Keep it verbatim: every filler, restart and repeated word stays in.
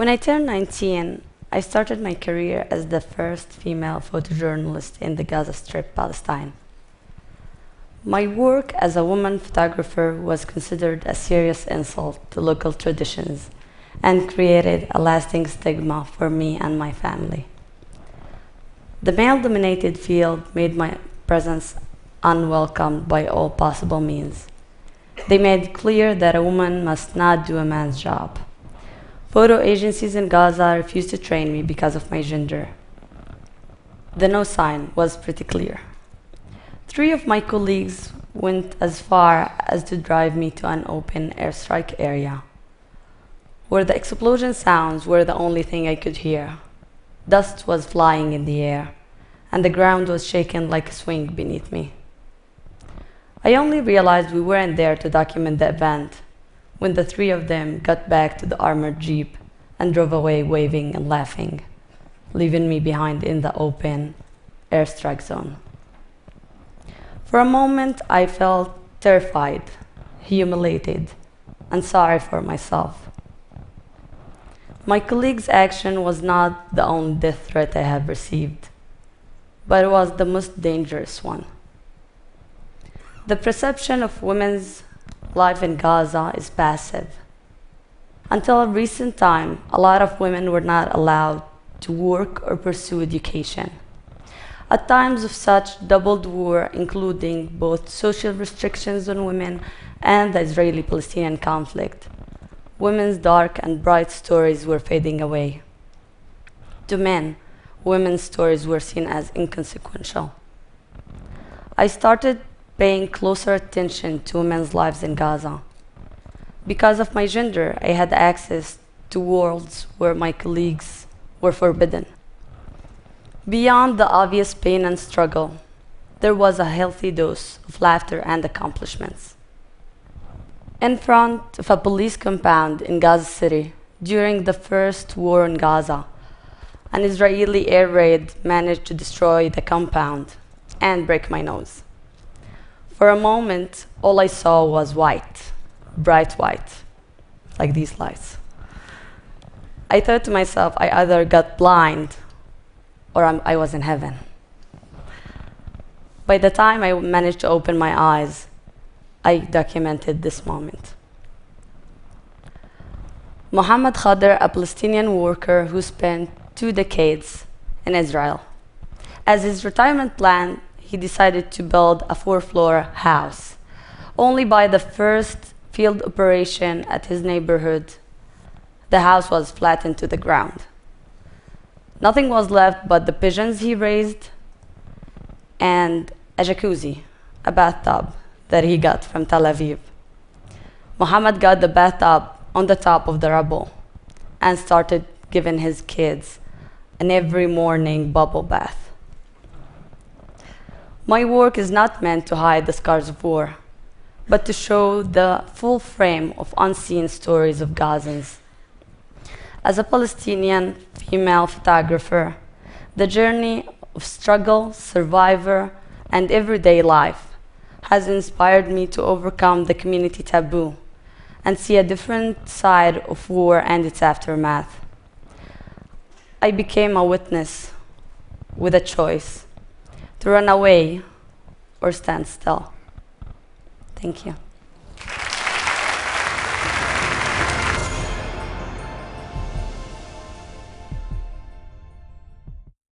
When I turned nineteen, I started my career as the first female photojournalist in the Gaza Strip, Palestine. My work as a woman photographer was considered a serious insult to local traditions and created a lasting stigma for me and my family. The male-dominated field made my presence unwelcome by all possible means. They made clear that a woman must not do a man's job. Photo agencies in Gaza refused to train me because of my gender. The no sign was pretty clear. Three of my colleagues went as far as to drive me to an open airstrike area, where the explosion sounds were the only thing I could hear. Dust was flying in the air, and the ground was shaken like a swing beneath me. I only realized we weren't there to document the event when the three of them got back to the armored jeep and drove away waving and laughing, leaving me behind in the open airstrike zone. For a moment, I felt terrified, humiliated, and sorry for myself. My colleague's action was not the only death threat I have received, but it was the most dangerous one. The perception of women's life in Gaza is passive. Until a recent time, a lot of women were not allowed to work or pursue education. At times of such doubled war, including both social restrictions on women and the Israeli-Palestinian conflict, women's dark and bright stories were fading away. To men, women's stories were seen as inconsequential. I started paying closer attention to women's lives in Gaza. Because of my gender, I had access to worlds where my colleagues were forbidden. Beyond the obvious pain and struggle, there was a healthy dose of laughter and accomplishments. In front of a police compound in Gaza City, during the first war in Gaza, an Israeli air raid managed to destroy the compound and break my nose. For a moment, all I saw was white, bright white, like these lights. I thought to myself, I either got blind or I'm, I was in heaven. By the time I managed to open my eyes, I documented this moment. Mohammed Khadr, a Palestinian worker who spent two decades in Israel. As his retirement plan, he decided to build a four-floor house. Only by the first field operation at his neighborhood, the house was flattened to the ground. Nothing was left but the pigeons he raised and a jacuzzi, a bathtub that he got from Tel Aviv. Mohammed got the bathtub on the top of the rubble and started giving his kids an every morning bubble bath. My work is not meant to hide the scars of war, but to show the full frame of unseen stories of Gazans. As a Palestinian female photographer, the journey of struggle, survivor, and everyday life has inspired me to overcome the community taboo and see a different side of war and its aftermath. I became a witness with a choice to run away or stand still. Thank you.